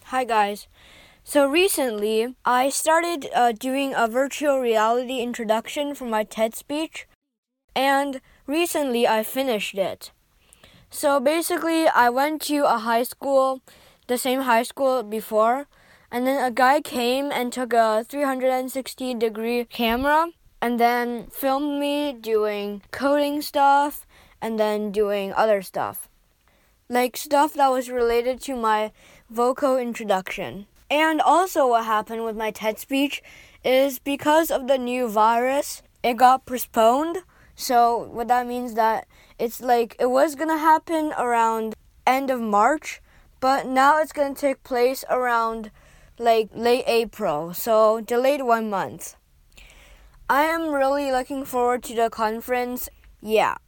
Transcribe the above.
Hi guys. So recently, I started doing a virtual reality introduction for my TED speech, and recently I finished it. So basically, I went to a high school, the same high school before, and then a guy came and took a 360-degree camera and then filmed me doing coding stuff and then doing other stuff. Like stuff that was related to my vocal introduction. And also what happened with my TED speech is because of the new virus, it got postponed. So what that means that it's like it was going to happen around end of March, but now it's going to take place around like late April. So delayed 1 month. I am really looking forward to the conference. Yeah.